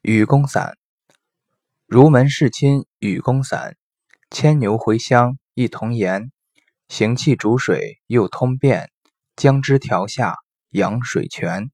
雨宫散，如门侍亲雨宫散，牵牛茴香一同研，行气煮水又通便，姜汁调下养水泉。